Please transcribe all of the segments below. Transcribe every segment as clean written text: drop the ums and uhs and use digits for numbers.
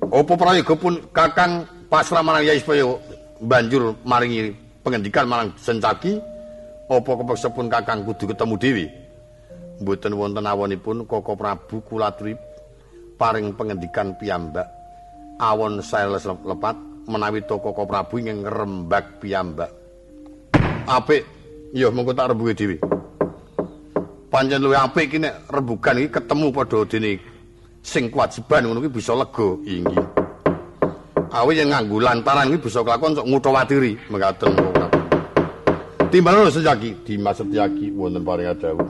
Apa prayoga pun Kakang pasrah marang Yai supaya banjur maringi pengendikan marang Sencaki? Apa kepeksa pun Kakang kudu ketemu dhewe? Mboten wonten awonipun Koko Prabu kula aturi paring pengendikan piyambak. Awon sales lepat menawi to Koko Prabu ingkang ngrembag piyambak. Apik, ya mengko tak rembuge dhewe. Pancen luwih apik iki nek rembugan iki ketemu padha dene sing kewajiban ngono kuwi bisa lega inggih. Awi yen nganggo lantaran kuwi bisa kelakon sok ngutawatiri mekaten kok. Timbal Sencaki Dimas Setyaki wonten paring dawuh.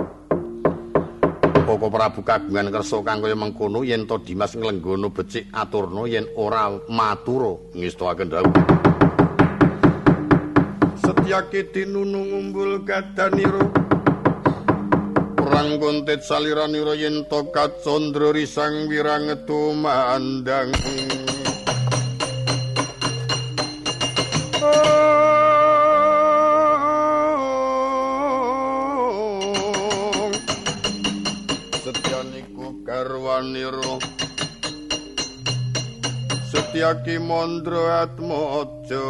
Koko Prabu kagungan kersa kang kaya mengkono yen to Dimas nglenggono becik aturna yen ora matura ngestakaken dawuh. Setyaki tinunung umbul gadanira perang kontet saliranira yen to kacandra risang wirangetu mandang. Garwaniro Setyaki Mandra Atmaja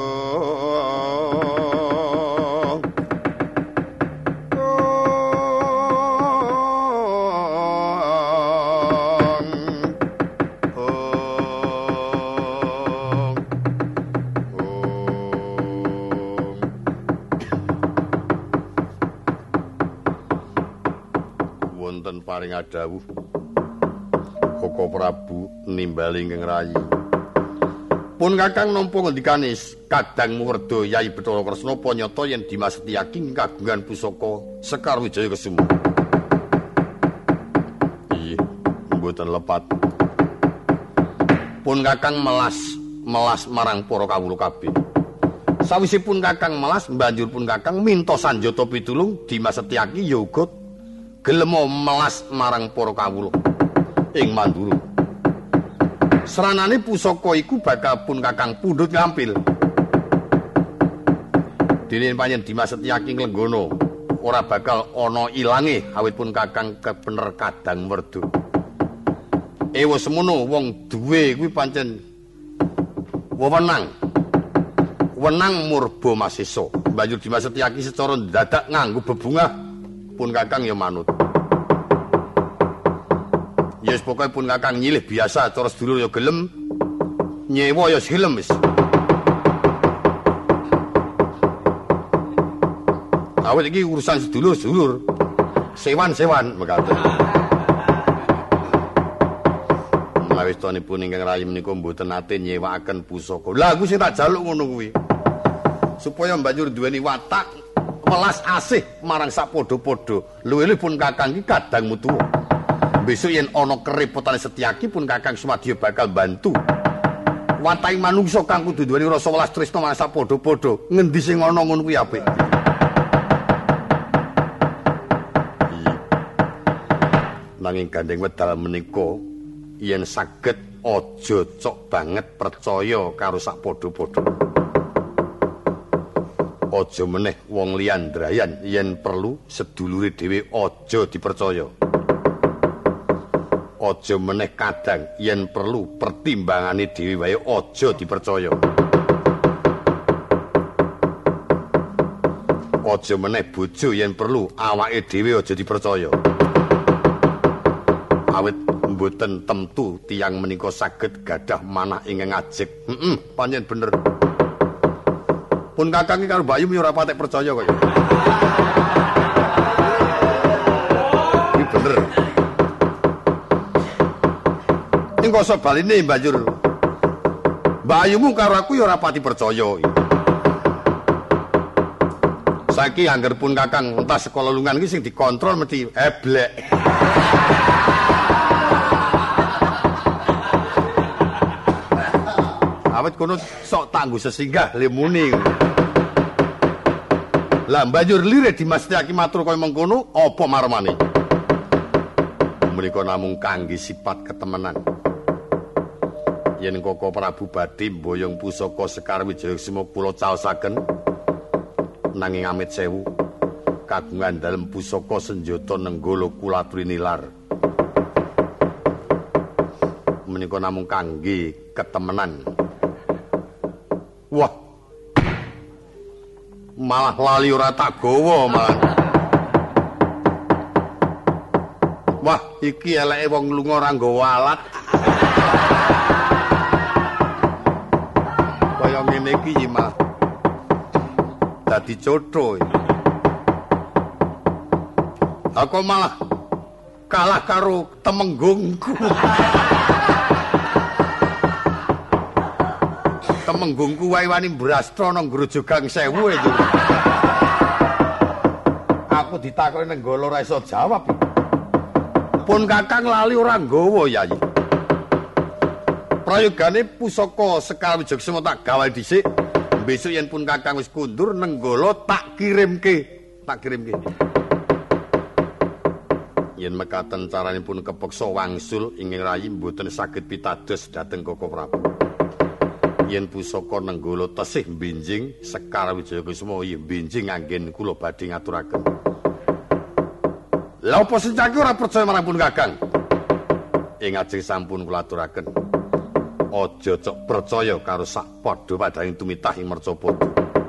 wonten paring adawuh Koko Prabu nimbali ingkang rayi. Pun Kakang nampa ngendikane Kadangmu Werda Yai Bathara Kresna panyata yen Dimas Setyaki kagungan pusaka Sekar Wijaya Kesuma. Iya, mboten lepat. Pun Kakang melas marang para kawula kabeh. Sawisipun Kakang melas banjur pun Kakang minta sanjata pitulung Dimas Setyaki ya uga gelem melas marang para kawula ing Mandura. Seranane pusaka iku bakal pun Kakang pundhut ngampil. Dene panjen Dimas Setyaki nglenggono ora bakal ana ilange awit pun Kakang kebener Kadang Werda. Ewa semono wong duwe kuwi pancen wewenang. Wenang murba masesa. Banjur Dimas Setyaki secara dadak nganggo bebungah pun Kakang ya manut. Ya wis pokoke pun Kakang nyilih biasa cara sedulur ya gelem, nyewa ya gelem wis. Awit iki urusan sedulur-sedulur. Sewan-sewan mekaten. Menawi stanipun ingkang rayi menika mboten nate nyewakaken pusaka. Lah aku sing tak jaluk ngono kuwi. Supaya banjur duweni watak welas asih marang sapadha-padha. Luwih-luwih pun Kakang iki kadang mutu. Besok yen ana kerepotane Setyaki pun Kakang Sumadya bakal bantu. Wataking manungsa kang kudu duweni rasa welas tresna marang sapadha-padha. Ngendi sing ana ngono kuwi apik. Nanging gandeng wedal menika yen saged aja cok banget percaya karo sapadha-padha. Aja meneh wong liyan ndrayan yen perlu sedulure dhewe aja dipercaya. Aja meneh kadang yen perlu pertimbangane dhewe wae aja dipercaya. Aja meneh bojo yen perlu awake dhewe aja dipercaya. Awit mboten temtu tiyang menika saged gadah manah ingkang ajeg. Pancen bener. Pun Kakang karo Bayu ora patek percaya kok. Iki bener. Ning kok baline banjur Bayumu karo aku ya ora pati percaya. Saiki angger pun Kakang entas sekolah lungan iki sing dikontrol mesti eblek. Awet kono sok tangguh sesinggah lemuni. Lah banjur lirik Dimas Setyaki matur kaya mengkono apa marmane? Menika namung kangge sifat ketemenan. Yen Koko Prabu badhe mboyong pusaka Sekar Wijaya Kesuma kula caosaken. Nanging amit sewu kagungan dalem pusaka senjata nenggala kula aturi nilar. menika namung kangge ketemenan. Wah. Malah lali ora tak gawa malah. Wah, iki eleke wong lunga ora nggawa alat. Kaya ngene iki malah dadi cotho. Aku malah kalah karo temenggungku. Temenggungku wae wani brastra nang Grojogang Sewu itu. Aku ditakoni nenggala ora iso jawab. Pun Kakang lali ora nggawa Yayi. Prayogane pusaka Sekar Wijogsema tak gawe dhisik. Besok yen pun Kakang wis kundur nenggala tak kirimke. Yen mekaten caranipun kepeksa wangsul ingkang rayi mboten saged pitados dhateng Koko Prabu. Yen pusaka nenggala tesih benjing Sekar Wijogesuma yen benjing anggen kula badhe ngaturaken. Lha apa Sencaki ora percaya marang pun Kakang? Ing ajeng sampun kula aturaken. Aja cok percaya karo sak padha padhaing tumitah ing Mercapada.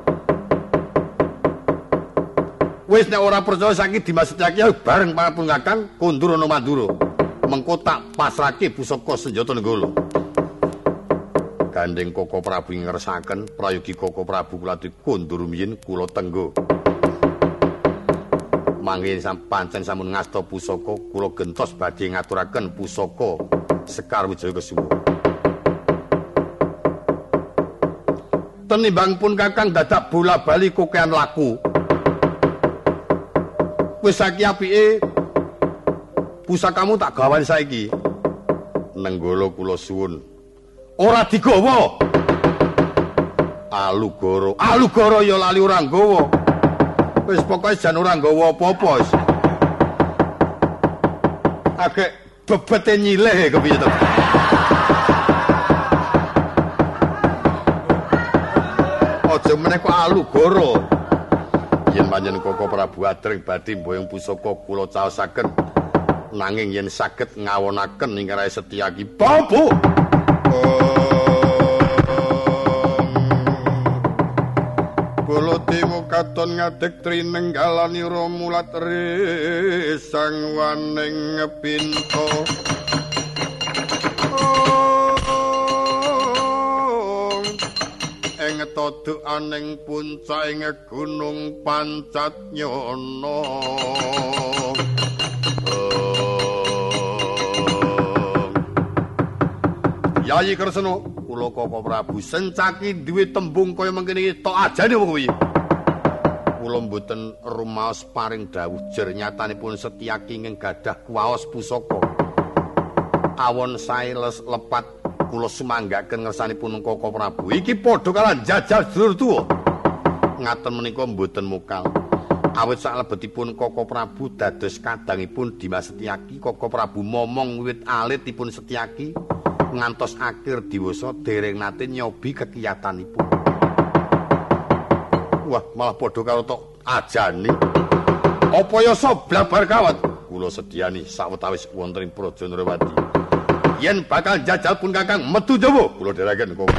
Wis nek ora percaya saiki Dimas Setyaki bareng pun Kakang kondur ana Mandura. Mengko tak pasrahke pusaka senjata nenggala. Gandeng Koko Prabu ngersakaken prayogi Koko Prabu kula kondur miyin kula tenggo. Mangke pancen sampun ngasta pusaka kula gentos badhe ngaturaken pusaka Sekar Wijogesuma. Tenimbang pun Kakang dadak bola-bali kokean laku. Wis saiki apike pusakamu tak gawani saiki. Nenggala kula suwun. Ora digawa. Alugara ya lali ora nggawa. Wis pokoke jan ora nggawa apa-apa wis. Agek bebete nyilih kepiye to. Aja meneh kok alugara. Yen panjenengan Koko Prabu adreng badhe mboyong pusaka kula caosaken. Nanging yen saged ngawonaken ingkang Rai Setyaki babu. Baladewa katon ngadeg trinenggalani Romulat resang waning pinto. Ing todokaning puncak gunung Pancatnyana. Yayi Kresna, kula Koko Prabu Sencaki duwe tembung kaya mengkene iki tok ajane apa kuwi? Kula mboten rumaos paring dawuh jer nyatanipun Setyaki ing gadah kuwaos pusaka. Awon sae lepat kula sumanggaken ngersanipun Koko Prabu. Iki padha kala jajal sedulur tuwa. Ngaten menika mboten mukal. Awit salebetipun Koko Prabu dados kadangipun Dimas Setyaki, Koko Prabu momong wiwit alitipun Setyaki ngantos akhir diwasa dereng nate nyobi kekiyatanipun. Wah, malah padha karo tok ajane. Apa yasa blabar kawat? Kula sedyani sawetawis wonten ing Praja Ndrawati. Yen bakal jajal pun Kakang metu Jawa, kula dherekaken kok.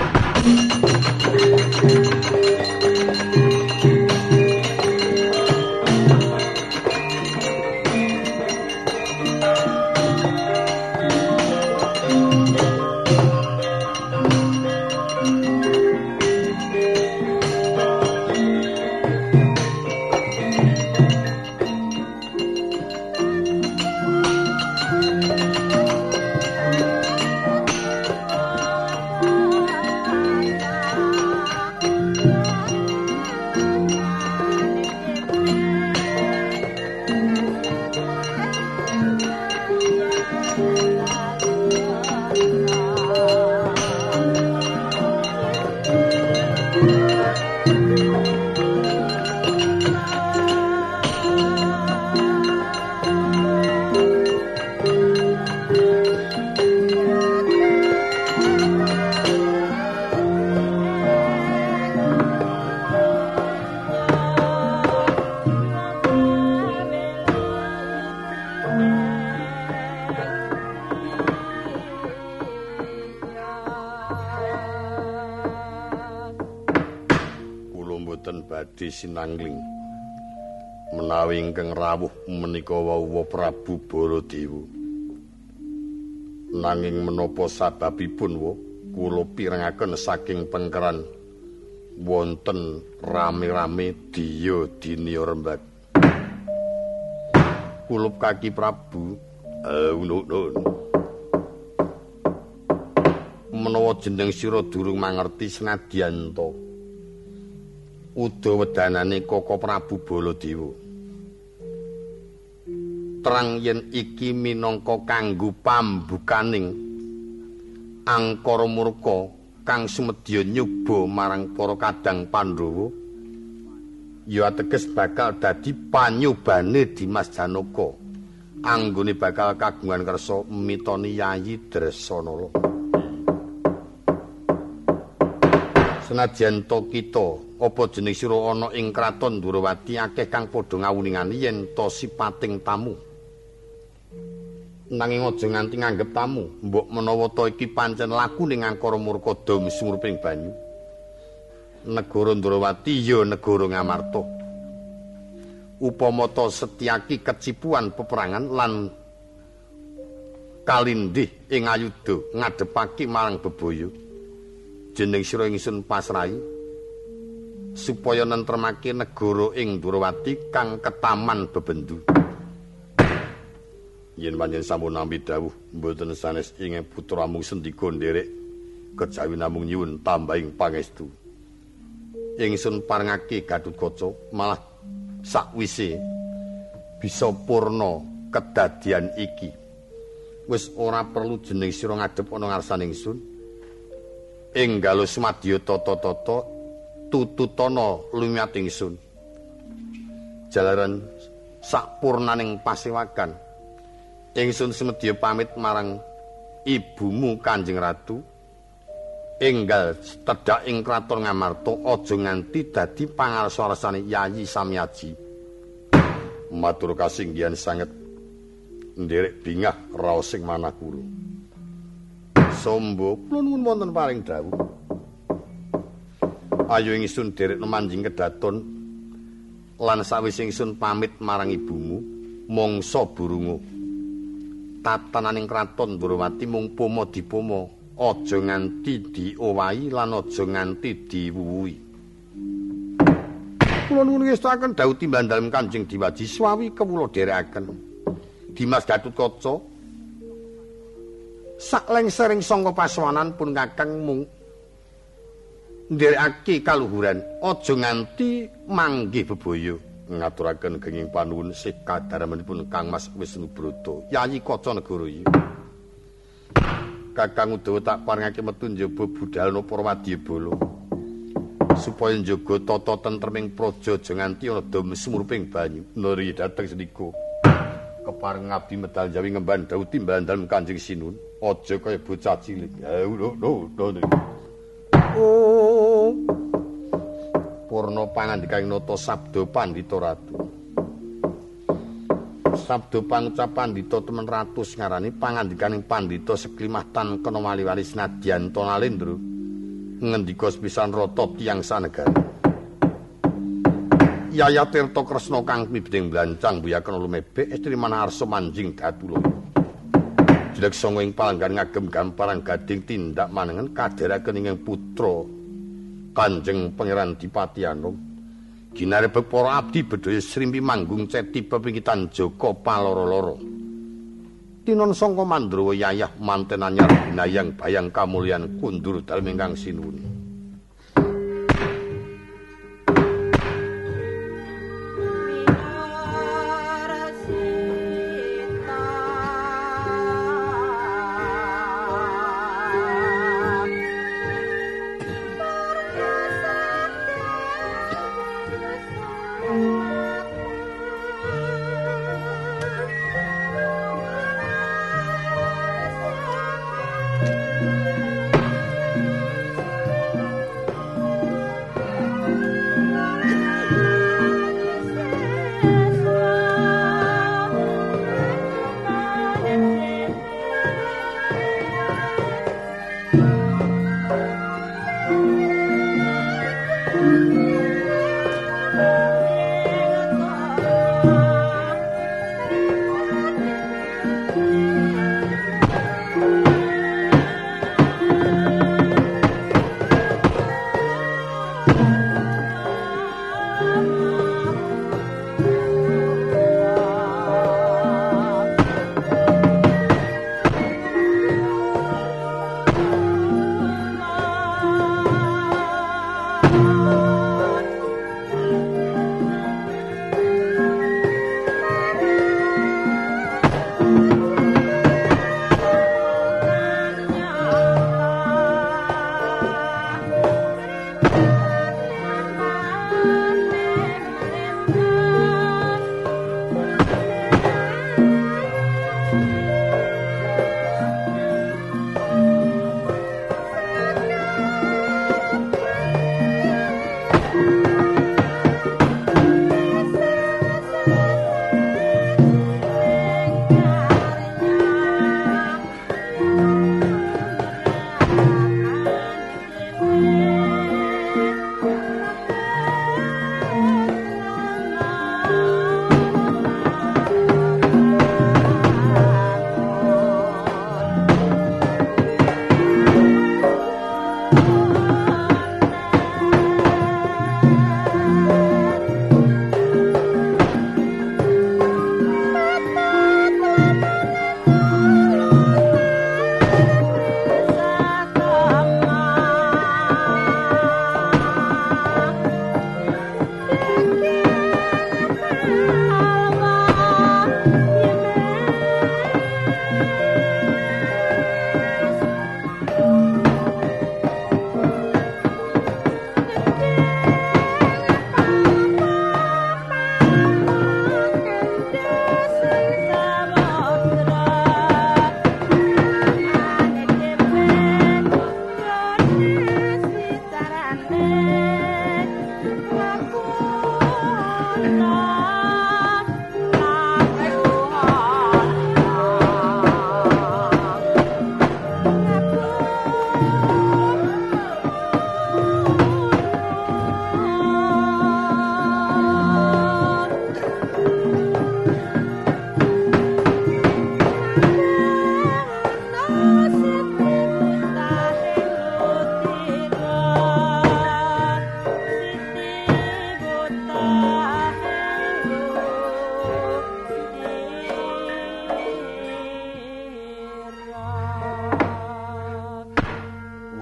mboten badhe sinangling menawi ingkang rawuh menika wau Prabu Baladewa. Nanging menapa sababipun kula pirengaken saking pengkeran wonten rame-rame diya dinya rembag. Kulup kaki Prabu menawa jeneng sira durung mangerti senadyan to udawedanane Koko Prabu Baladewa. Terang yen iki minangka kanggo pambukaning angkara murka kang sumedya nyoba marang para kadang Pandhawa, ya ateges bakal dadi panyobane Dimas Janaka anggone bakal kagungan kersa mitoni Yayi Dresanala. Senadyan to kita apa jeneng sira ana ing kraton Durawati akeh kang padha ngawuningani yen to sipating tamu. Nanging aja nganti nganggep tamu, mbok menawa to iki pancen laku ning angkara murka dom sumurping banyu. Negara Durawati ya negara Ngamarta. Upama to Setyaki kecipuan peperangan lan kalindih ing ayuda ngadepake marang bebaya. Jeneng sira ingsun pasrahi supaya nentremake negara ing Durawati kang ketaman bebendu. Yen panjenengan sampun nampi dawuh mboten sanes ing putra mung sendika nderek kejawi namung nyuwun tambahing pangestu. Ingsun parengake Gatotkaca malah sakwise bisa purna kedadian iki. Wis ora perlu jeneng sira ngadhep ana ngarsaning ingsun. Enggal sumadya tata-tata tututana lumiat ingsun. Jalaran sakpurnaning pasewakan ingsun semedya pamit marang ibumu Kanjeng Ratu. Enggal tedhak ing kraton Ngamarta aja nganti dadi pangarsa-arsane Yayi Samyaji. Matur kasinggihan sanget nderek bingah raos sing manakura. Sombo kula nuwun wonten paring dawuh. Ayo ingsun derek nemanjing kedaton lan sawise ingsun pamit marang ibumu mangsa burungu. Tatananing kraton Durawati mung pomo dipomo, aja nganti diowahi lan aja nganti diwuwuhi. Kula nuwun ngestaken dawuh timbang dalem Kanjeng Diwaji swawi kawula dherekaken. Dimas Gatotkaca saklengsering sangka pasawanan pun kakang mung nderekake kaluhuran, aja nganti manggih bebaya. Ngaturaken kenging panuwun sih kadharemanipun Kang Mas Wisnubrata Yayi Kacanegara. Kakang Udawa tak parengake metu njaba budhalna para wadyabala supaya njaga tata tentreming praja aja nganti ana dom sumurping banyu. Nari dhateng senika kepareng ngabdi medal jawi ngemban dawuh timbalan dalem Kanjeng Sinun, aja kaya bocah cilik. Oh purna pangandikaning nata sabda Pandhita Ratu. Sabda pangucap Pandhita temen ratus ngarani pangandikaning Pandhita seklimah tan kena wali-wali senadyan to nalendra ngendika sepisan rata tiyang sanegara. Yaya Tirta Kresna kang pibeting blancang buyaken lumebek estri manarsa manjing datula. Jelek sanga ing palanggan ngagem gamparang gading tindak manengen kadheraken ing putra Kanjeng Pangeran Dipati Anom. Ginarebeg para abdi bedhaya srimpi manggung ceti pepingitan Jaka paloro-loro. Tinon sangka Mandrawa yayah manten anyar binayang bayang kamulyan kundur dalem ingkang sinuwun.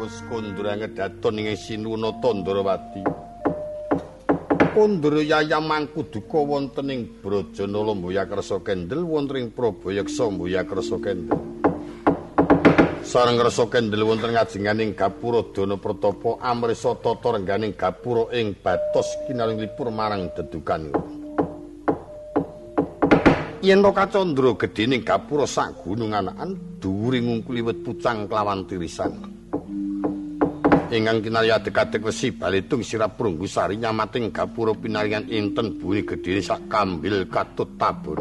wis kondra ngedaton ing Sinuna Tandrawati. Kondra Yayam Mangkuduka wonten ing Brajanala Mboyakersa Kendel wonten ing Prabayaksa Mboyakersa Kendel. Sareng Rasa Kendel wonten ngajenganing gapura Dana Pratapa amrisa tata rengganing gapura ing batos kinalipur marang dedukanipun. Yen to kacandra gedhening gapura sak gunung anakan dhuwuring ngungkuli wit pucang kelawan tirisan. Ingkang kinarya adeg-adeg wesi balitung sirap Prunggusari nyamating gapura pinaringan inten buni gedhene sak kambil katut tabun.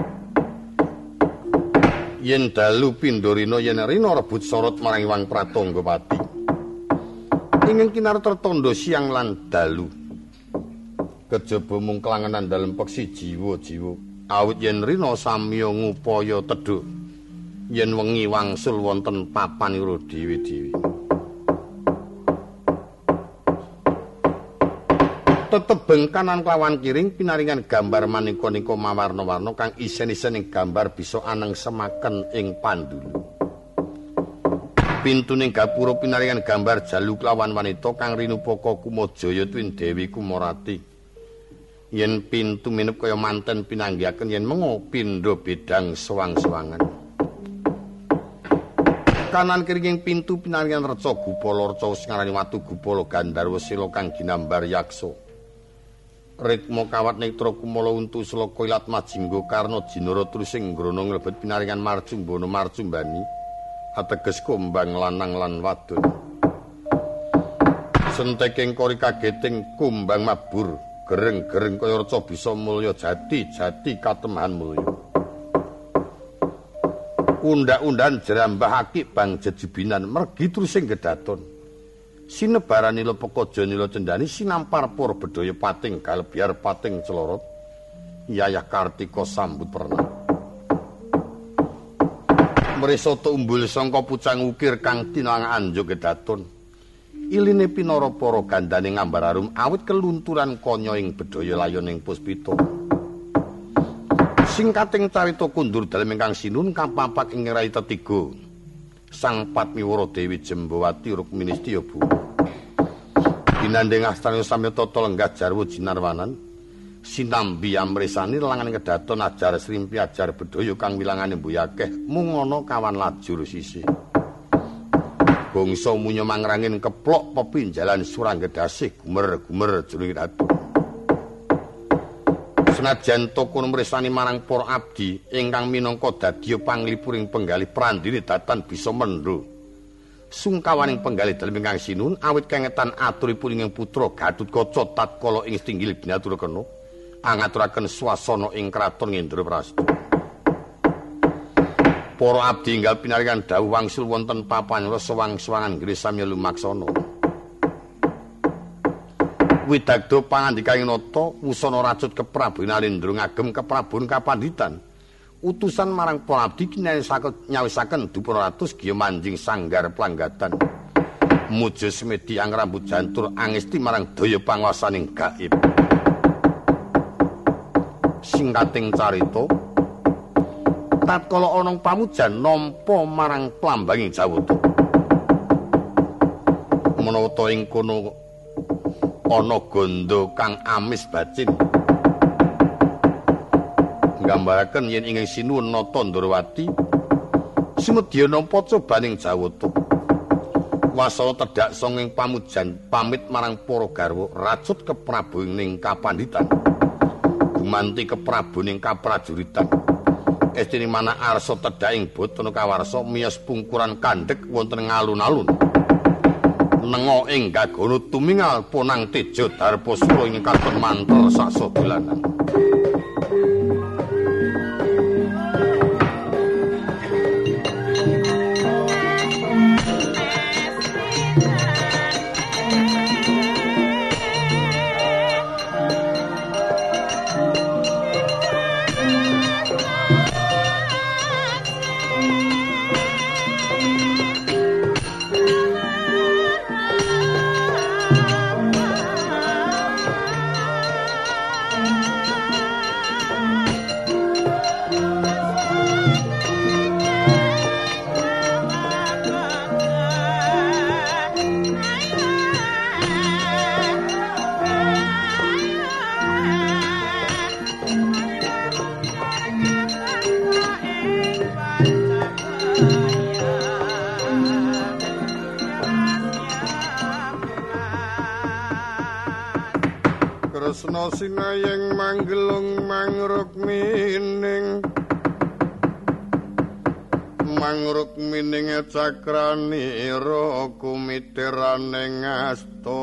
Yen dalu pindorina yen rina rebut sorot marang Wang Pratanggapati. Ingkang kinarta tandha siang lan dalu. Kejaba mung kelangenan dalem peksi jiwa-jiwa. Awit yen rina samya ngupaya tedhuk. Yen wengi wangsul wonten papanira dewi-dewi. Tetebeng kanan klawan kiring pinaringan gambar manika-nika mawarna-warna kang isen-isen ing gambar bisa aneng semaken ing pandulu. Pintuning gapura pinaringan gambar jalu klawan wanita kang rinupaka Kumajaya tuwin Dewi Kumarati. Yen pintu minep kaya manten pinanggihaken yen mengo pindha bedang sewang-sewangan. Kanan kiring pintu pinaringan reca gupala reca sing ngarani watu gupala Gandharwa Sila kang ginambar yaksa. Ritma kawat netra kumala untu selaka ilat majingga karna jinara trusing ngrana nglebet pinaringan marcumbana marcumbani ateges kumbang lanang lan wadon. Senteking kori kageting kumbang mabur gereng-gereng kaya reca bisa mulya jati-jati katemahan mulya. Undak-undan jerambah akik bang jejebinan mergi trusing gedaton. Sinebarani lepekaja nila cendani sinampar para bedhaya pating galebyar pating celorot Yayah Kartika sambut pernah. Mresata umbul sangka pucang ukir kang tinang anjuk gedaton. Iline pinara para gandane ngambar arum awit kelunturan kanya ing bedhaya layoning puspita. Singkating carita kundur dalem ingkang sinun kapapak ing rai tetiga. Sang Patmiwara Dewi Jembawati Rukmini Setyabu. Dinandhing astana samya tata lenggah jarwa jinarwanan sinambi amresani langan kedaton ajar srimpi ajar bedhaya kang wilangane mbuh akeh mung ana kawan lajur sisih. Bangsa munya mangrangin keplok pepinjalan suranggedasih gumer-gumer jroning ratu. Senajan tokon mresani marang para abdi ingkang minangka dadya panglipuring penggalih prandini datan bisa mendho. Sungkawaning penggalih dalem ingkang sinun awit kengetan aturipun ing putra Gatutkaca tatkala ing Stinggil Binaturkena angaturaken swasana ing kraton Ngendraprasta. Para abdi enggal pinaringan dawuh wangsul wonten papan sewang-sewangan nggih samya lumaksana. Widagda pangandikaning nata wusana racut keprabu Nalendra ngagem keprabun kapanditan. Utusan marang para abdi nyawisaken Duparatus giya manjing sanggar planggatan. Muja semedi ang rambut jantur angesti marang daya panguwasaning gaib. Singkating carita tatkala ana pamujan nampa marang plambanging Jawata. Menawa ing kono ana gondo kang amis bacin. Nggambaraken yen ing sinuwun Tandrawati sumedya nampa cobaning Jawata. Wasana tedhak sanging pamujan pamit marang para garwa racut keprabuning kapanditan. Gumanti keprabuning kaprajuritan. Estine manah arsa tedhaking Batana Kawarsa miyos pungkuran kandhek wonten ngalun-alun. Nenga ing gagana tumingal ponang teja Darpasura ing katon mantel sasadolanan. tresna sinayeng manggelung mangrukmining cakranira kumitiraning asta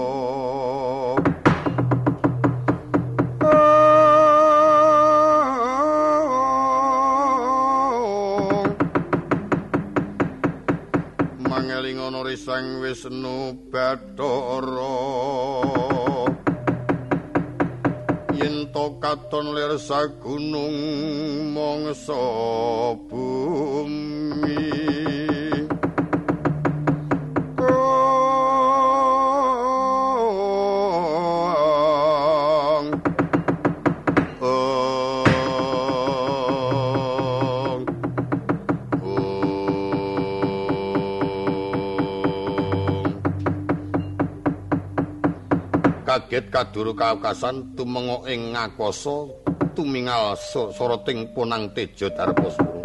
mangeling ana Sang Wisnu Bathara yen to katon lir sagunung mangsa bumi kaget kaduru kaukasan tumenga ing ngakasa tumingal soroting punang teja Darmasura.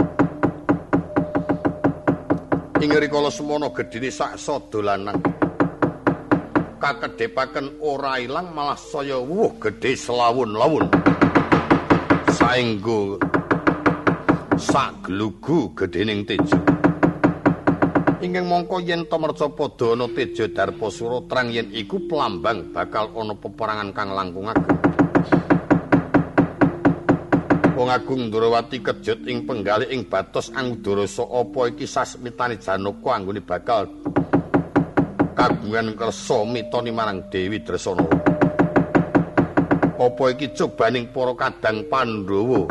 Ing rikala semana gedhene saksa dolanan kakedhepaken ora ilang malah saya wuh gedhe selawun-lawun saenggo saglugu gedhening teja. Ingkang mongko yen to merca padha ana teja Darmasura terang yen iku pelambang bakal ana peperangan kang langkung ageng. Wong Agung Ndrawati kejut ing penggalih ing batos Angudara apa iki sasmitane Janaka anggone bakal kagungan kersa mitoni marang Dewi Dresana. Apa iki cobaning para kadang Pandhawa.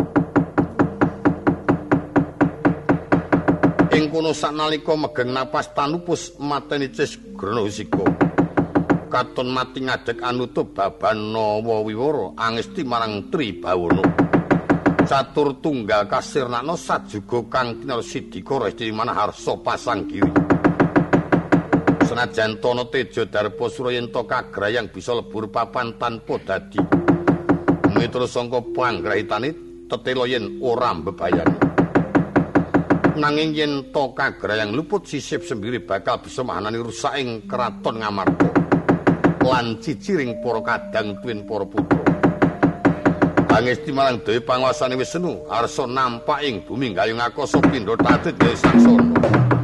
Ing kono saknalika megeng napas tanupus mateni Cisgranasika. Katon mati ngadeg anutup Babanawa Wiwara angesti marang Tribawana. Catur tunggal kasirnakna sajuga kang kinarsidika resti manaharsa pasanggiri. Senajan tono teja Darmasura yen to kagrayang bisa lebur papan tanpa dadi. Miturut sangka panggrahitane tetela yen ora mbebayani. Nanging yen to kagrayang luput sisip sembiri bakal bisa mahanani rusaking kraton Ngamarta lan ciciring para kadang tuwin para putra. Angesti marang Dewi panguasane Wisnu arsa nampak ing bumi gayung akasa pindha tatid Dewi Saksana.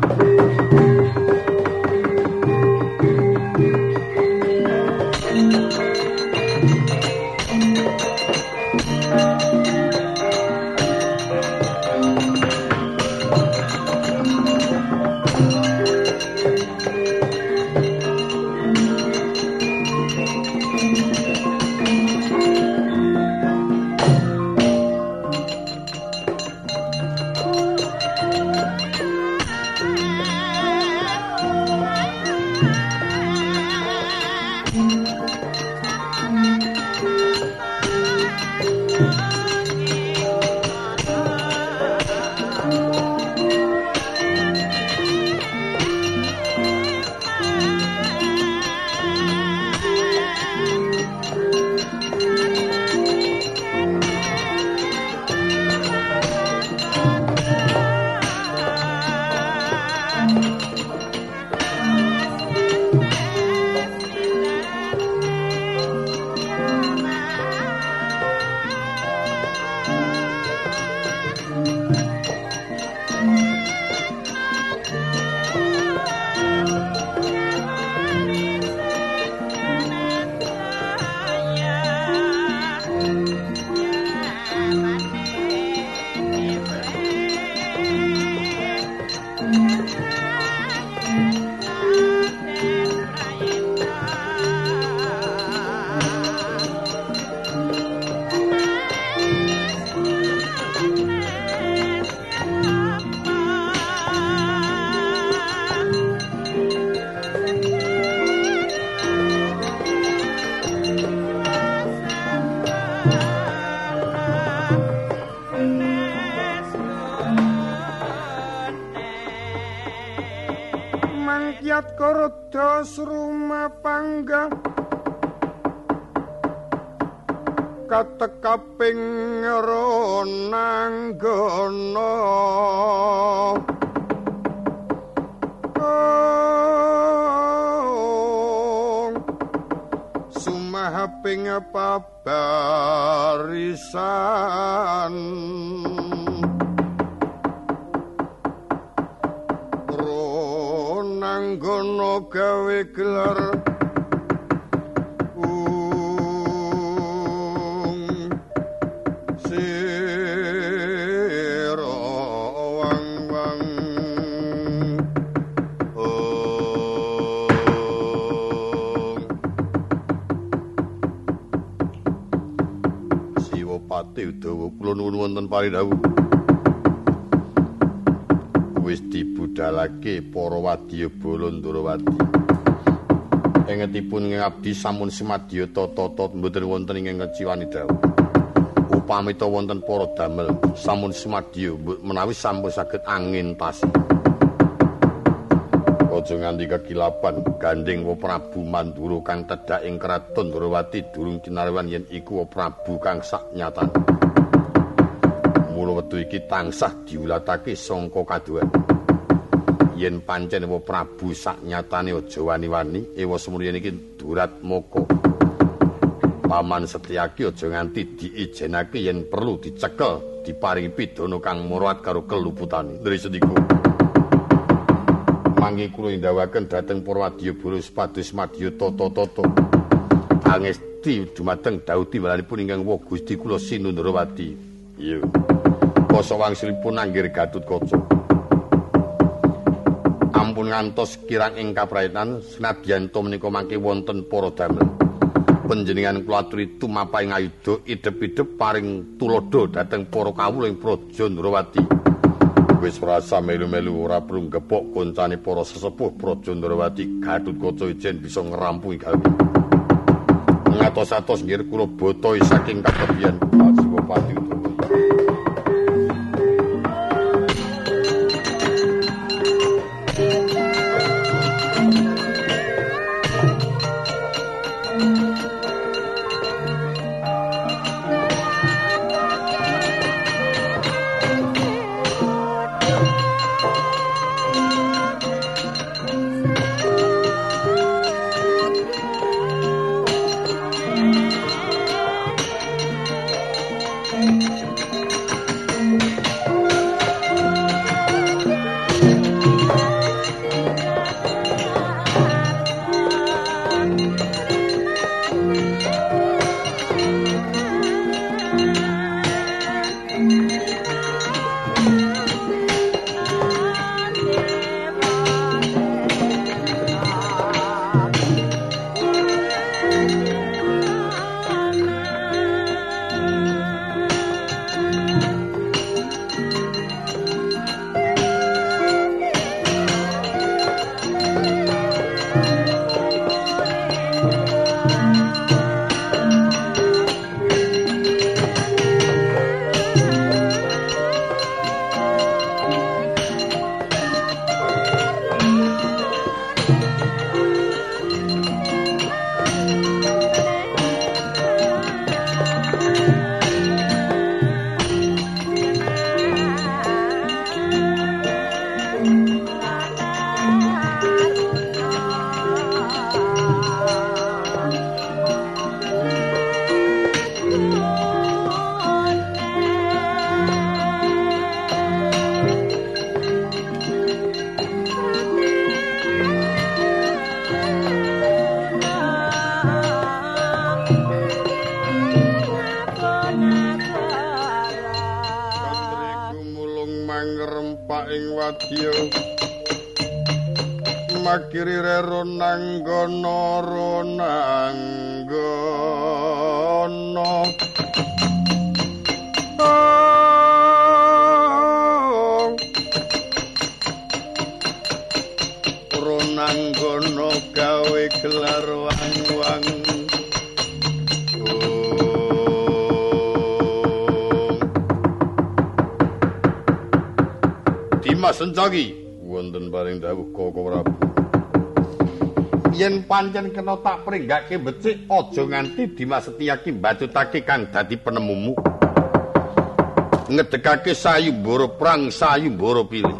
Mangkiat Korda Sruma Pangga katekaping Ronanggana mahaping pabarisan ronanggono gawe gelar Udawa kula nuwun wonten paridhawuh wis dibudhalake para wadya bala Ndarawati engetipun ngabdi sampun simadya tata mboten wonten ingkang ngeciwani dawuh upamita wonten para damel sampun simadya menawi sampun saged angintasi aja nganti kekilapan gandeng wa Prabu Mandura kang tedhak ing kraton Ndarawati durung kinarwan yen iku wa Prabu kang saknyatane. Mula wektu iki tansah diulatake sangka kaduan. Yen pancen wa Prabu saknyatane aja wani-wani ewa semuryen iki Duratmaka. Paman Setyaki aja nganti diijenake yen perlu dicekel diparingi pidana kang murat karo keluputane. Dari sediku mangke kula ndhawaken dhateng para wadyabala supados madya tata-tata angesti dumateng dauti walanipun ingkang wa Gusti kula Sinu Ndarawati. Iya. Kasa wangsulipun anggir Gatutkaca. Ampun ngantos kirang ing kaprayetan senadyan to menika mangke wonten para damel. Panjenengan kula aturi tumapaing ayuda idep-idep paring tulodo dhateng para kawula ing Praja Ndarawati. Wis rasa melu-melu ora perlu gepok koncane para sesepuh Praja Ndarawati Gatutkaca ijen bisa ngrampungi gawe. Ngatos-atos nggih kula botohi saking kakebian Siwapati Udawa. Makiri rero nanggono ronanggono gawe gelar wang-wang Dimas Sencaki wonten paring dawuh Koko Prabu. Yen pancen kena tak pringgake becik aja nganti Dimas Setyaki mbacutake kang dadi penemumu. Ngedekake sayumbara prang sayumbara pilih.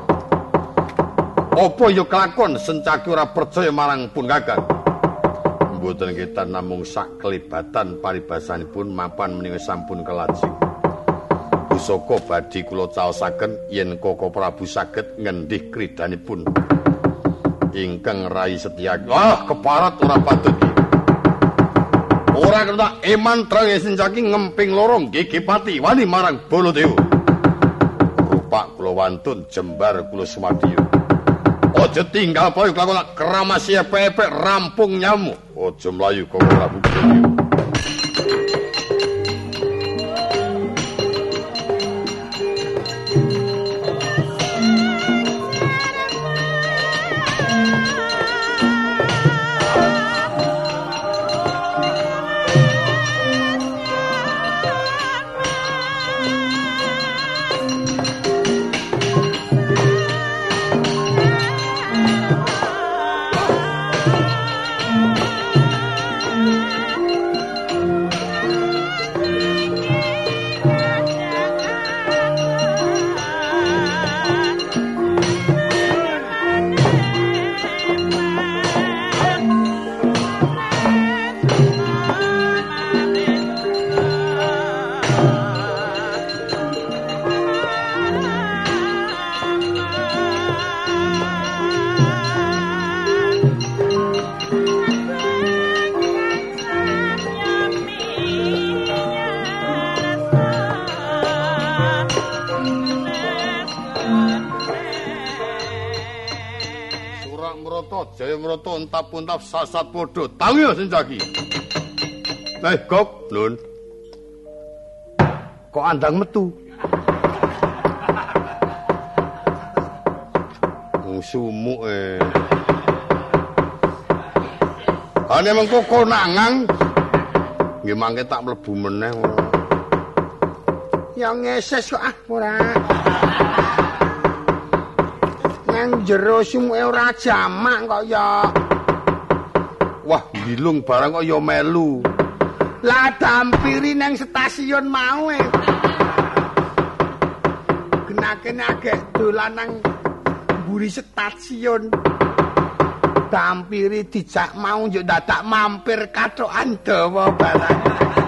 Apa ya kelakon Sencaki ora percaya marang pun Kakang. Mboten ketan namung sak kelibatan paribasanipun mapan menika sampun kelajeng. Pusaka badhe kula caosaken yen Koko Prabu saged ngendih kridanipun. Ingkang Rai Setyaki. Keparat ora patut. Ora kena eman Trang Sencaki ngemping lorong Gegepati wani marang Baladewa. Rupak kula wantun jembar kula sumadya. Aja tinggal poyo kelakon keramasya pepek rampung nyamuk. Aja mlayu Koko Prabu. Untap-untap sasat podo tangi Sencaki. Gok, Nun. Kok andang metu? Sumuk Ane mengko konangan. Nggih mangke tak mlebu meneh. Ya ngeses kok ora. Nang jero sumuke ora jamak kok ya. Wah, bilung barang kok ya melu. Lah dampiri nang stasiun mau Genakene agek dolan nang mburi stasiun. Dampiri dijak mau yo dadak mampir kathokan dawa barang.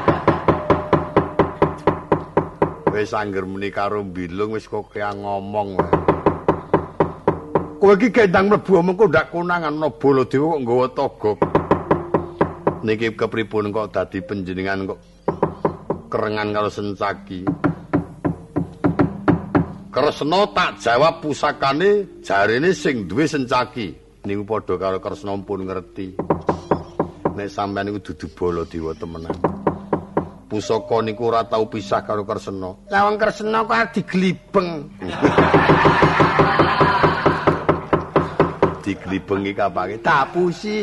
Wis angger muni karo bilung wis kok kaya ngomong wae. Kowe iki gendang mlebu mengko ndak konangan ana Baladewa kok nggawa togok. Niki kepripun kok dadi panjenengan kok kerengan karo Sencaki. Kresna tak jawab pusakane jarene sing duwe Sencaki. Niku padha karo Kresna pun ngerti. Nek sampean niku dudu Baladewa temenan. Pusaka niku ora tau pisah karo Kresna. Lah wong Kresna kok diglibeng. Diglibengi kapake tapusi.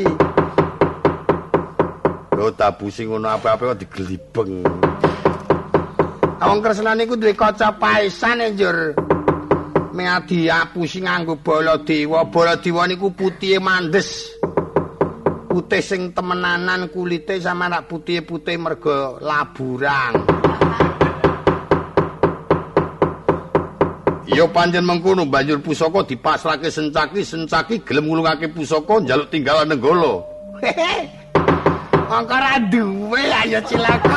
Lho tapusi ngono apa-apa kok diglibeng. Wong Kresna niku duwe kaca paesan njur. Meh diapusi nganggo Baladewa. Baladewa niku putihe mandes. Putih sing temenanan kulite sama rak putih-putih mergo laburang. Ya pancen mengkono banjur pusaka dipasrahke Sencaki, Sencaki gelem ngulungake pusaka njaluk tinggalan Nenggala. Angka ra duwe ayo cilaka.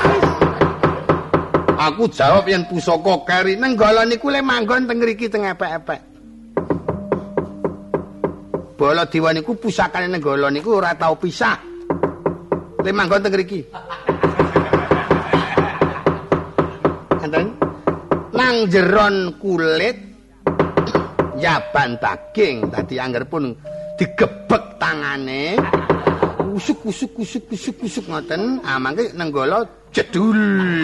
Aku jawab yen pusaka keri Nenggala niku le manggon teng mriki teng epek-epek. Baladewa niku pusakane Nenggala niku ora tau pisah. Le manggon teng mriki. Enten nang jeron kulit yaban daging dadi anggerpun digebek tangane kusuk ngoten mangke Nenggala jedul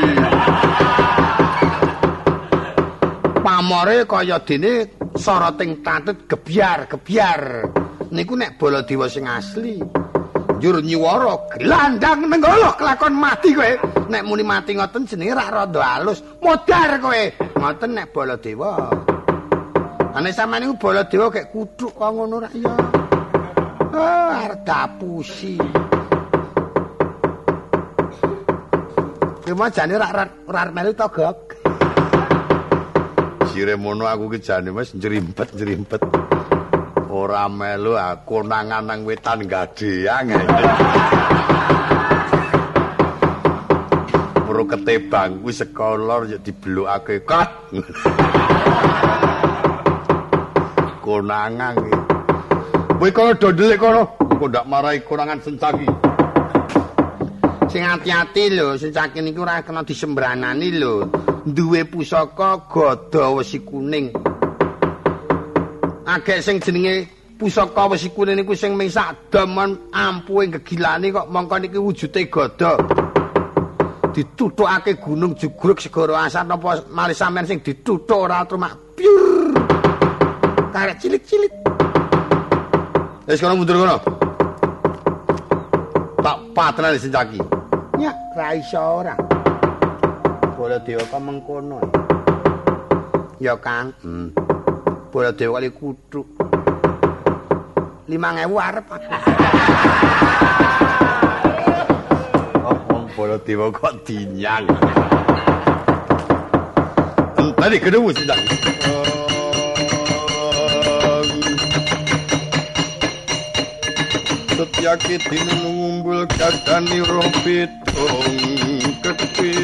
pamore kaya dene soroting tatut gebyar niku nek Baladewa sing asli njur nyiwara glandang Nenggala kelakon mati kowe nek muni mati ngoten jenenge rak rada halus modar kowe ngoten nek Baladewa ane sampeyan niku Baladewa kek kuthuk kok ngono rak ya arep dapusi Kema jane rak melu togok sire mono aku ki jane wis njrimpet ora melu konangan nang wetan gadeang. ngono ketebang kuwi sekolor ya diblokake kat. Konangan iki. Kowe kono dondele kono, engko ndak marahi konangan Sencaki. Sing ati-ati lho, Sencaki niku ora kena disembranani lho. Duwe pusaka gada wesi kuning. Agek sing jenenge pusaka wesi kuning niku sing ming sak daman ampuhe gegilane kok mongko niki wujude gada. Dituthukake gunung jugruk segara asar napa malih sampean sing dituthuk ora trumak piur. Karek cilik-cilik. Wis kono mundur kono. Tak patrane Sencaki. Ya, ra iso ora. Baladewa kok mengkono. Ya, Kang. Baladewa kali kuthuk. 5.000 arep. Oh, Baladewa kok dinyang. Tadi kedemu Sencaki. Setyaki dina ngumbul kadani rompitong kepi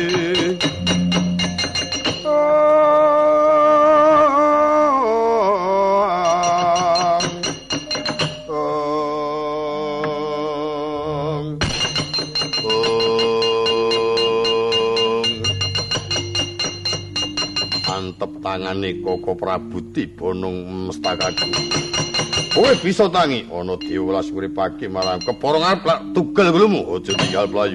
Antep tangane Koko Prabu tiba nang mestakaku. Kowe bisa tangi ana diwelas uripake marang kepara ngarep lak tugel nglumu aja tinggal playu.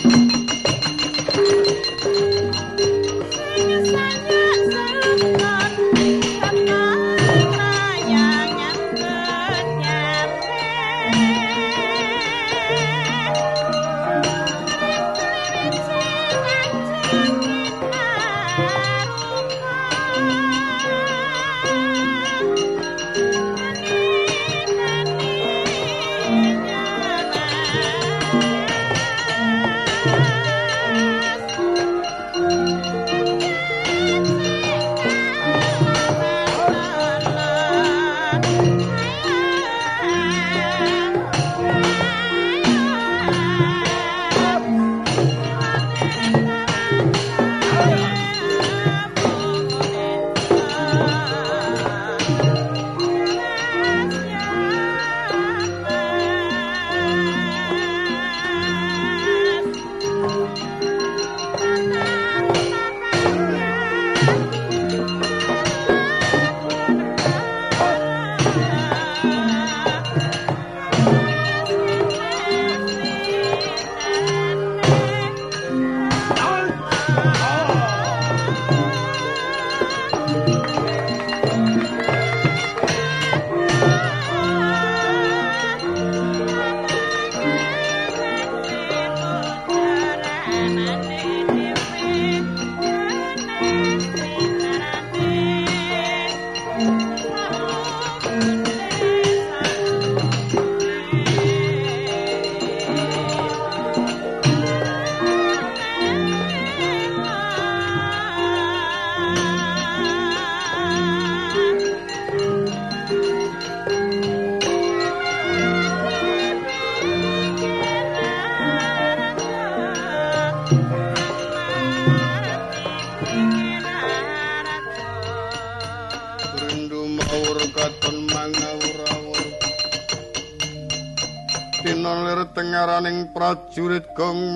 Tengaraning prajurit gong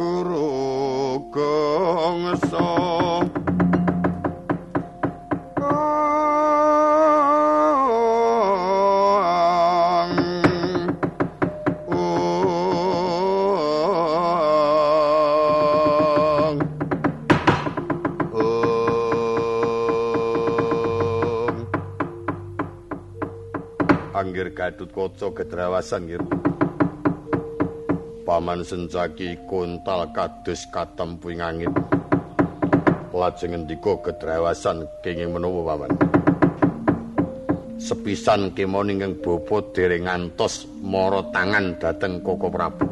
maguru gongso Anggir Gatut Kaca gedrawasan nggih. Paman Sencaki kontal kados katempuing angin. Lajeng ngendika gedrawasan kenging menawa paman. Sepisan kemon ingkang bapa dereng ngantos mara tangan dhateng Koko Prabu.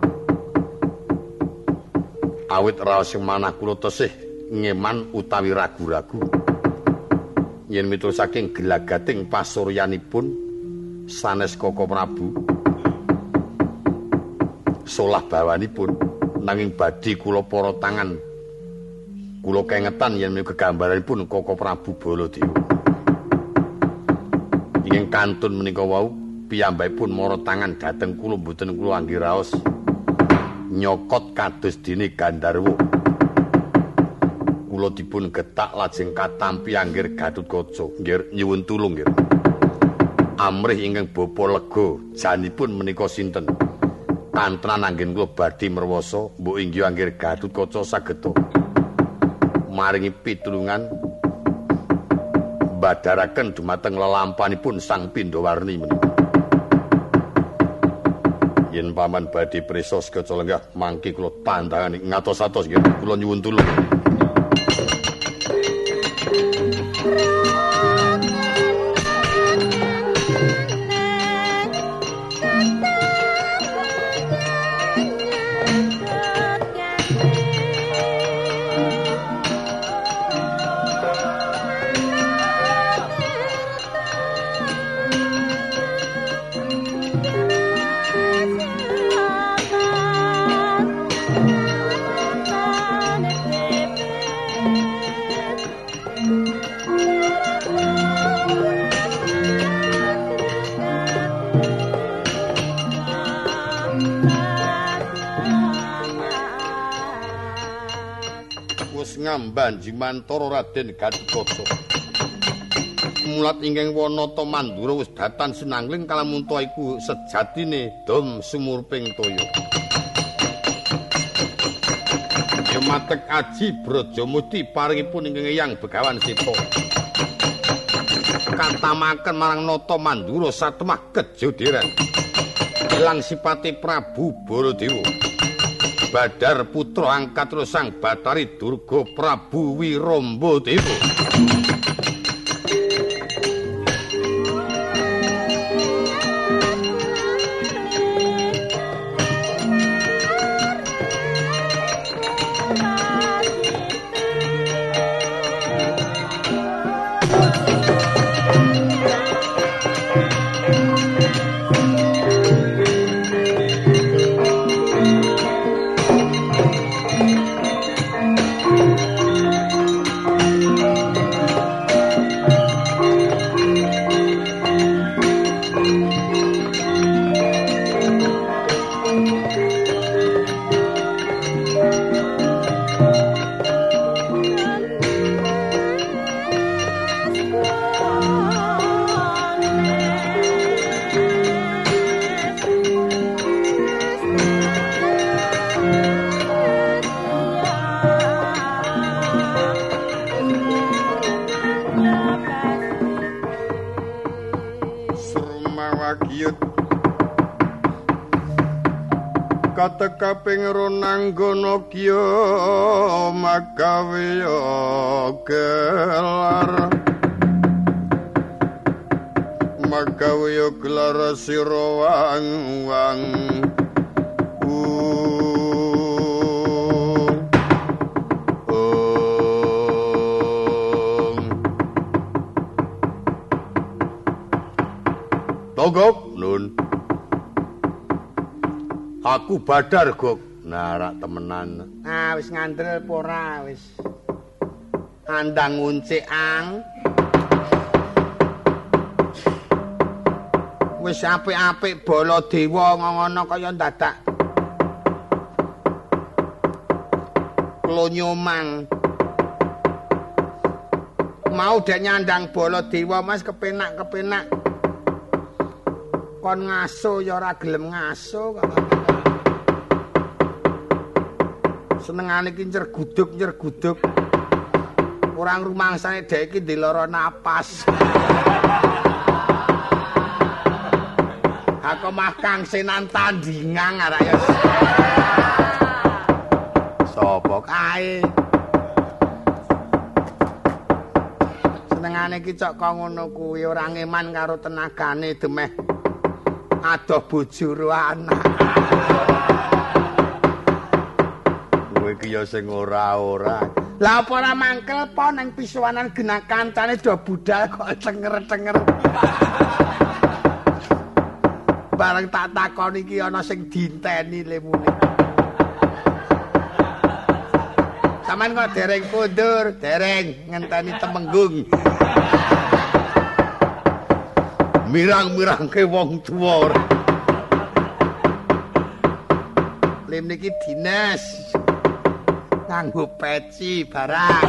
Awit raos manah kula tesih ngeman utawi ragu-ragu. Yen miturut saking gelagating pasuryanipun sanes Koko Prabu solah bawanipun nanging badhe kula para tangan Kula kengetan yen menika gegambaranipun Koko Prabu Baladewa. Ingkang kantun menika wau piyambakipun mara tangan dhateng kula mboten kula angge raos nyokot kados dene Gandharwa. Kula dipun getak lajeng katampi anggir Gatotkaca. Nggih nyuwun tulung nggih. Amrih ingkang bapa lega janipun menika sinten? Kantran anggen kula badhe merwasa mbok inggih anggir Gatotkaca sageta maringi pitulungan badharaken dumateng lelampanipun Sang Pindawarni menika. Yen paman badhe prisa sekeca lenggah mangke kula tandhangani ngatos-atos nggih kula nyuwun tulung. Ngambanji mantara Raden Gatotkaca. Mulat ingkang Wanata Mandura wis datan sinangling kalamunta iku sejatine dom sumurping toya. Yamatek aji Brajamusti paringipun ingkang Eyang Begawan Sita. Katamaken marang Nata Mandura satemah kejodheran. Ilang sipate Prabu Baladewa. Badar putra angkat Sang Batari Durga Prabu Wirombadewa. Kaping ronanggana kiya magawe gelar sira wang Togok nun aku badar gok narak temenan. Wis ngandel apa ora wis. Andang nguncik ang. Wis apik-apik Baladewa ngono kaya dadak. Klonyomang. Mau dek nyandang Baladewa Mas kepenak-kepenak. Kon ngaso ya ora gelem ngaso kok. Senengane iki nyerguduk. Orang rumangsane dhek iki ndek lara napas. Aku mah Kang Senan tandingan arek ya. Sopo kae? Senengane iki cok kok ngono kuwi ora ngeman karo tenagane demeh adoh bojo ro anak. Iki ya sing ora-ora. Lah apa ora mangkel po nang pisuwanan genah kancane do budal kok cenger-cenger. Bareng tak takon iki ana sing dinteni le muni. Sampeyan kok dereng kondur, dereng ngenteni Temenggung. Mirang-mirangke wong tuwa. Lim niki dinas. Nganggo peci barang.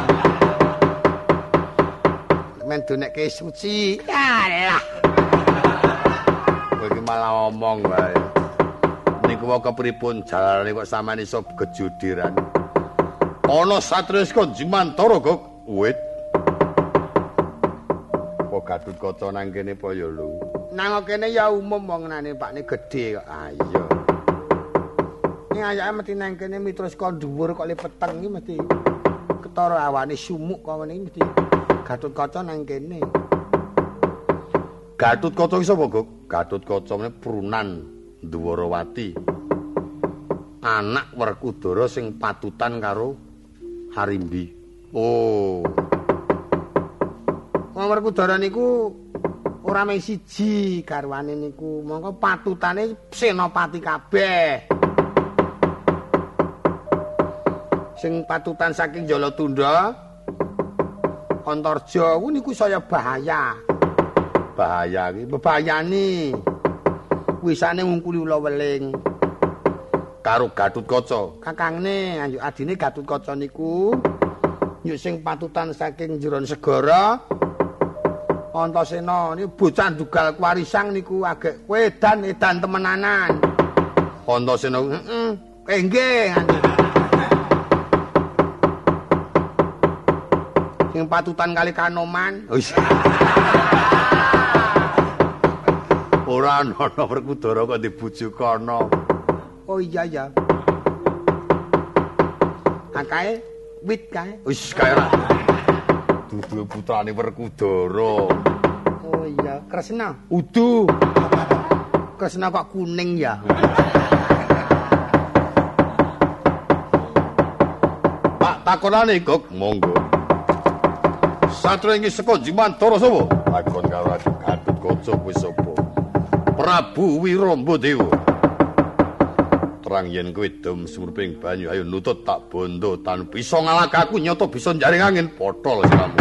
Men donekke suci. Alah. Kowe iki malah omong wae. Niku wae kepripun jalane kok sampeyan iso gejudiran. Ana satriya Jimantara kok wit. Apa Gatotkaca nang kene apa ya lho? Nang kene ya umum wongenane pakne gedhe kok. Ah iya. Ning ayake mesti nang kene mitra saka dhuwur kok le peteng iki mesti ketara awane sumuk kok ngene mesti Gatotkaca nang kene. Gatotkaca iki sapa, Gok? Gatotkaca meneh prunan Dwarawati. Anak Werkudara sing patutan karo Harimbi. Oh. Wong Werkudara niku ora mung siji garwane niku, mongko patutane senopati kabeh. Sing patutan saking Jalatundha, Antarja niku saya bahaya. Bahaya iki. Bebayani. Wisane ngungkuli ula weling. Karo Gatotkaca. Kakangne anjuk adine Gatotkaca niku nyuk sing patutan saking jeron segara. Antasena niku bocah dugal kwarisang niku agek edan temenanan. Antasena Nggih. Sing patutan kali Kanoman. Ora ana Werkudara kok dibujuk kana. Oh iya ya. Akae wit kae. Wis kae ra. Dudu putrane Werkudara. Oh iya, Kresna. Udu. Kresna kok kuning ya. Pak takonane kok monggo. Satriya iki saka Jimantara sapa? Takon karo Gatotkaca kuwi sapa? Prabu Wirambadéwa. Terang yen kowe dom sumurping banyu ayo nutut tak bondo tan bisa ngalahkaku nyoto bisa njaring angin potol siramu.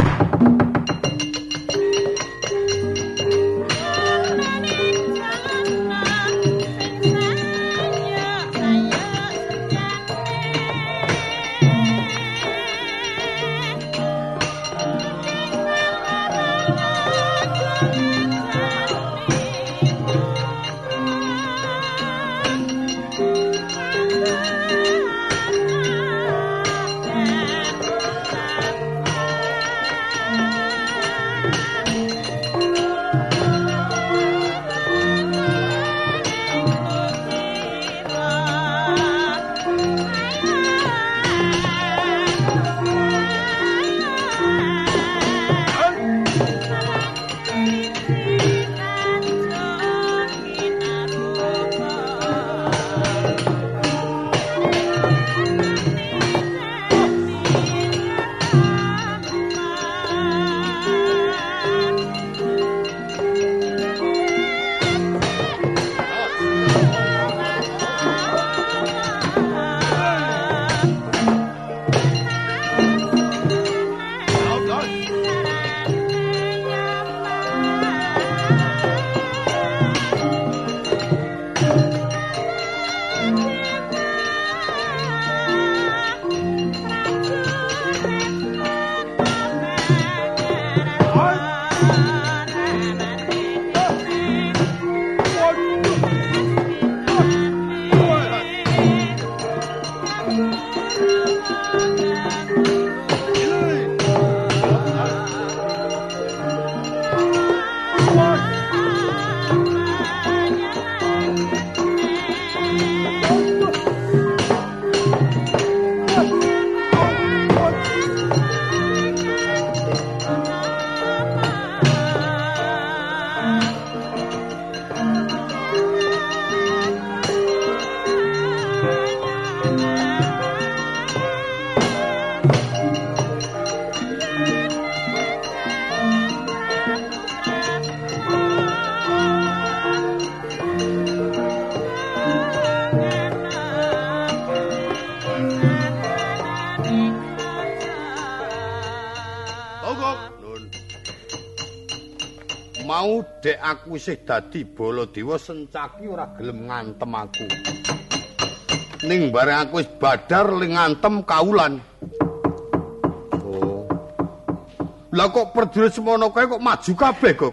mau dek aku isih dadi Baladewa Sencaki ora gelem ngantem aku. Ning bareng aku wis badar ling ngantem kaulan. Oh. Lah kok prajurit semono kae kok maju kabeh kok.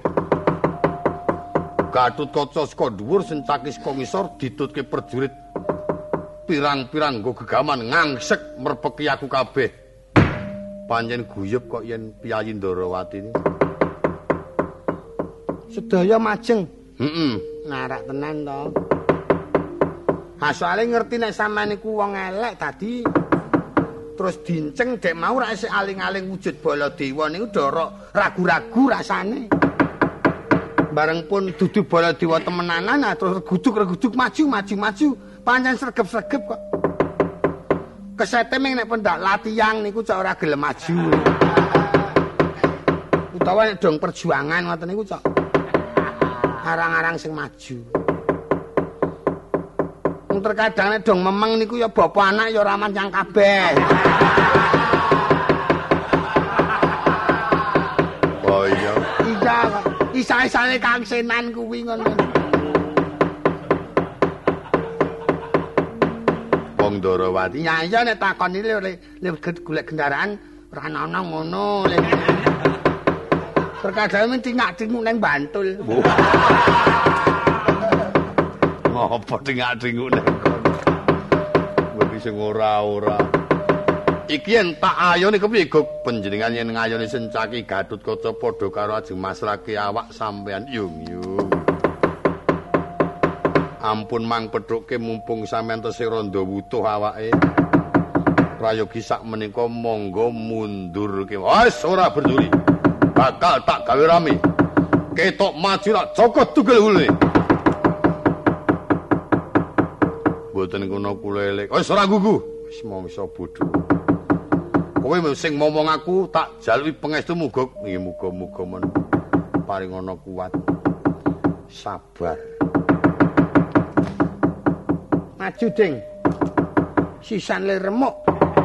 Gatotkaca saka dhuwur Sencaki saka ngisor ditutke prajurit pirang-pirang nggo gegaman ngangsek merpeki aku kabeh. Pancen guyub kok yen Piyayi Ndarawati ini. Sedaya majeng. Heeh. Narak tenan to. Asale ngerti nek sampean niku wong elek dadi terus dinceng dek mau ra isih aling-aling wujud Baladewa niku ndoro ragu-ragu rasane. Bareng pun dudu Baladewa temenanan terus reguduk maju. Pancen sregep-sregep kok. Kesete ming nek pendak latihan niku cok ora gelem maju. Utawa nek dong perjuangan ngoten niku cok arang-arang sing maju. Terkadang nek dong memeng niku ya bapak anak ya ora mancang kabeh. Oh iya. Iya, isa-isane Kang Senan kuwi ngono. Wong Ndarawati. Ya iya nek takoni le golek kendaraan ora ana ngono. Terkadang men tingak-tinguk nang Bantul. Apa tingak-tinguk nang kono. Kuwi sing ora-ora. Iki yen tak ayoni kepiye Guk panjenengan yen ngayoni Sencaki Gatotkaca padha karo ajeng masrake awak sampean yung. Ampun Mang Petruke mumpung sampean tesih randa wutuh awake. Prayogi sak menika monggo mundur ke. Wis ora berduri. Bakal tak gawe rame. Ketok maju rak cokot tugel ulune. Mboten kono kula elek. Wis ora gugu. Wis mangsa bodho. Kowe sing ngomong aku tak jaluki pangestumu Guk. Nggih muga-muga men paringana kuat. Sabar. Maju ding. Sisan le remuk.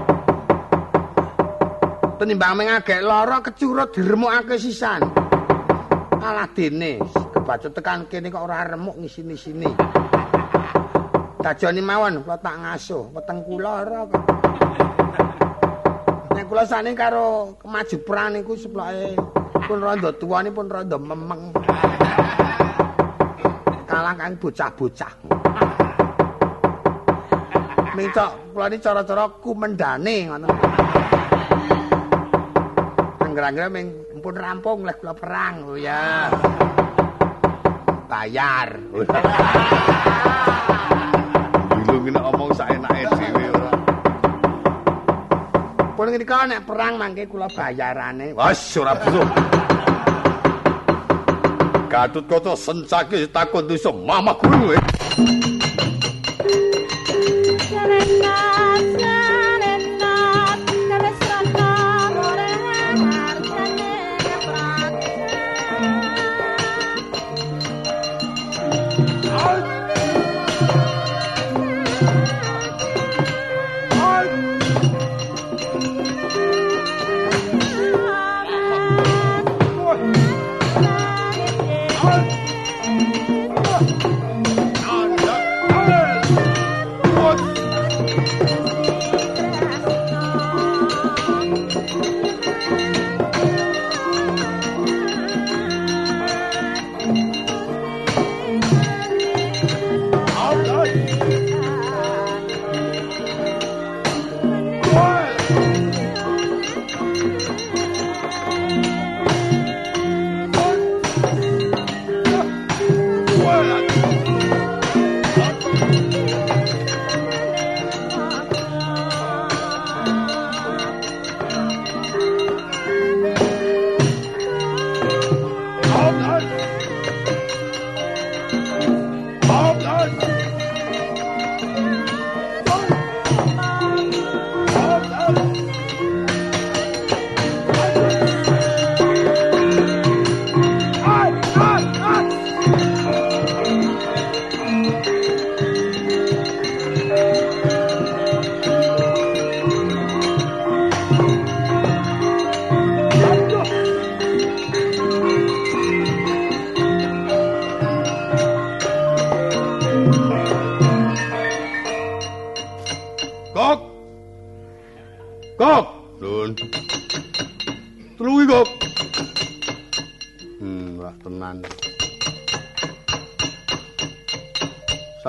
Tenimbang mengagek lara kecurut diremukake sisan. Alah dene kebacut tekan kene kok ora remuk ngisini-sini. Dajane mawon kula tak ngasuh weteng kula ora kok. Nek kula sane karo maju perang niku seploke pun rada tuwane pun rada memeng. Kalah kang bocah-bocah. Minta kula ni cara-cara kumendane ngono. Angger-angger ming pun rampung lek kula perang. Oh ya. Bayar. Bilung nek omong saenake dhewe ora. Pun ngendika nek perang mangke kula bayarane. Wes ora butuh. Gatotkaca Sencaki takon dosa mamah guru.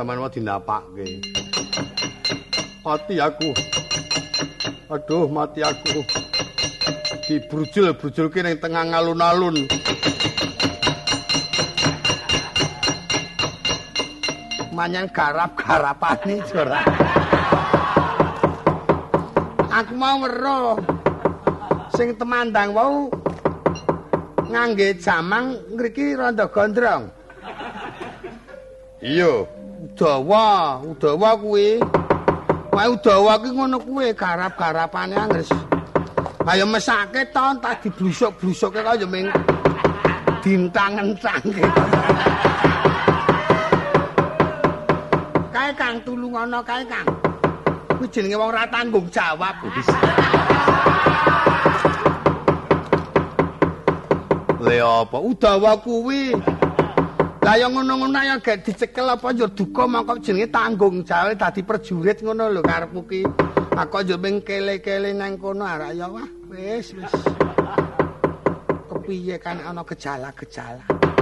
sampean wae dinapakke. Mati aku. Aduh, mati aku. Dibrujul-brujulke ning tengah alun-alun. Manyan garap-garapane jora. Aku mau weruh sing temandang wau ngangge jamang ngriki rada gondrong. Iya, Udawa kuwi. Wae Udawa ki ngono kuwi garap-garapane angres. Ayo mesake to tak diblusuk-blusukke kaya ming dintang-entangke. Kae Kang tulungono kae Kang. Kuwi jenenge wong ora tanggung jawab. Le apa Udawa kuwi. Lah ya ngono-ngono ya gek dicekel apa yo duka mongko jenenge tanggung jawab dadi prajurit ngono lho karepmu ki. Aku yo ming kele-kele nang kono arek ya wah wis. Kepiye kan ana gejala-gejala.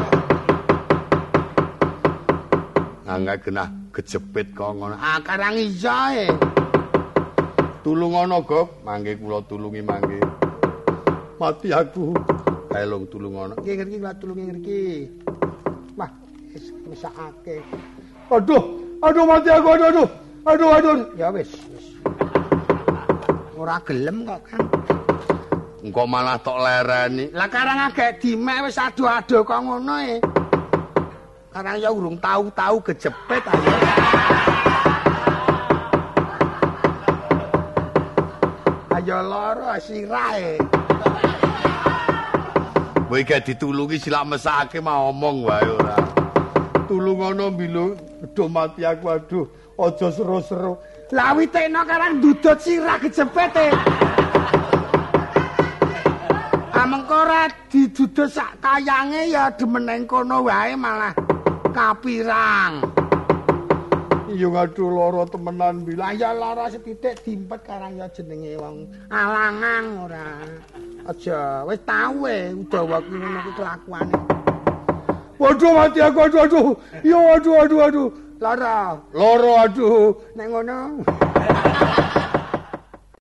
Angga genah kejepit kok ngono. Ah karang iya Tulungono, Gop. Mangke kula tulungi mangke. Mati aku. Kaelung tulungono. Nggih ngriki kula tulungi ngriki. Wah, wis mesakake. Aduh mati aku, aduh. Ya wis. Ora gelem kok, Kang. Engko malah tok lereni. Lah karang agek dimek wis aduh-aduh kok ngono e. Karang ya urung tahu kejepit ayo. Ayo loro sirahe. Kowe gak ditulungi silak mesake mau omong wae ora. tulungono mbilu. Aduh mati aku, aduh. Aja seru-seru. Lah witekno karang dudut sirah kejepete. Amengko ora didudut sak kayange ya demeneng kono wae malah kapirang. Iya ngaduh lara temenan Lah ya lara setitik dimpet karang ya jenenge wong alangang ora. Aja wis tau Udawa kuwi ngono kuwi kelakuane. Waduh mati aku, aduh. Ya aduh. Lara Lara aduh. nek ngono.